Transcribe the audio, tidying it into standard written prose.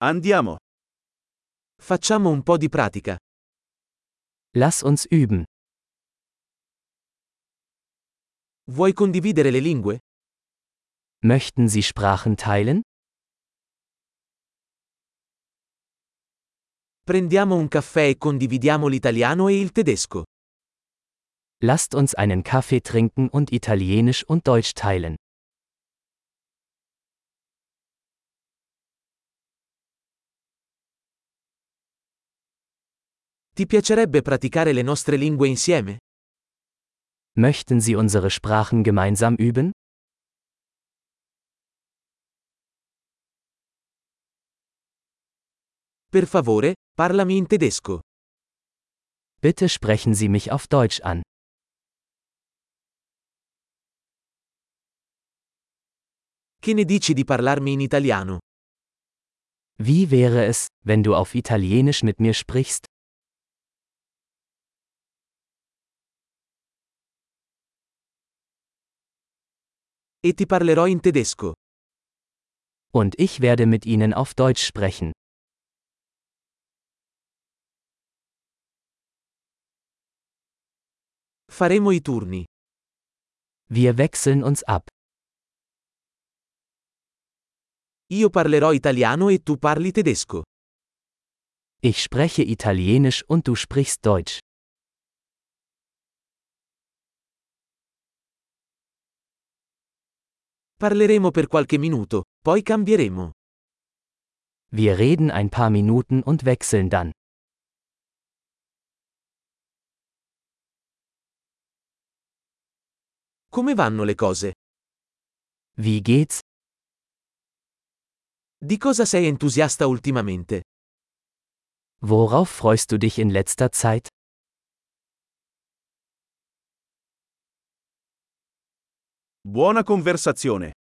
Andiamo. Facciamo un po' di pratica. Lass uns üben. Vuoi condividere le lingue? Möchten Sie Sprachen teilen? Prendiamo un caffè e condividiamo l'italiano e il tedesco. Lasst uns einen Kaffee trinken und Italienisch und Deutsch teilen. Ti piacerebbe praticare le nostre lingue insieme? Möchten Sie unsere Sprachen gemeinsam üben? Per favore, parlami in tedesco. Bitte sprechen Sie mich auf Deutsch an. Che ne dici di parlarmi in italiano? Wie wäre es, wenn du auf Italienisch mit mir sprichst? E ti parlerò in tedesco. Und ich werde mit Ihnen auf Deutsch sprechen. Faremo i turni. Wir wechseln uns ab. Io parlerò italiano e tu parli tedesco. Ich spreche Italienisch und du sprichst Deutsch. Parleremo per qualche minuto, poi cambieremo. Wir reden ein paar Minuten und wechseln dann. Come vanno le cose? Wie geht's? Di cosa sei entusiasta ultimamente? Worauf freust du dich in letzter Zeit? Buona conversazione.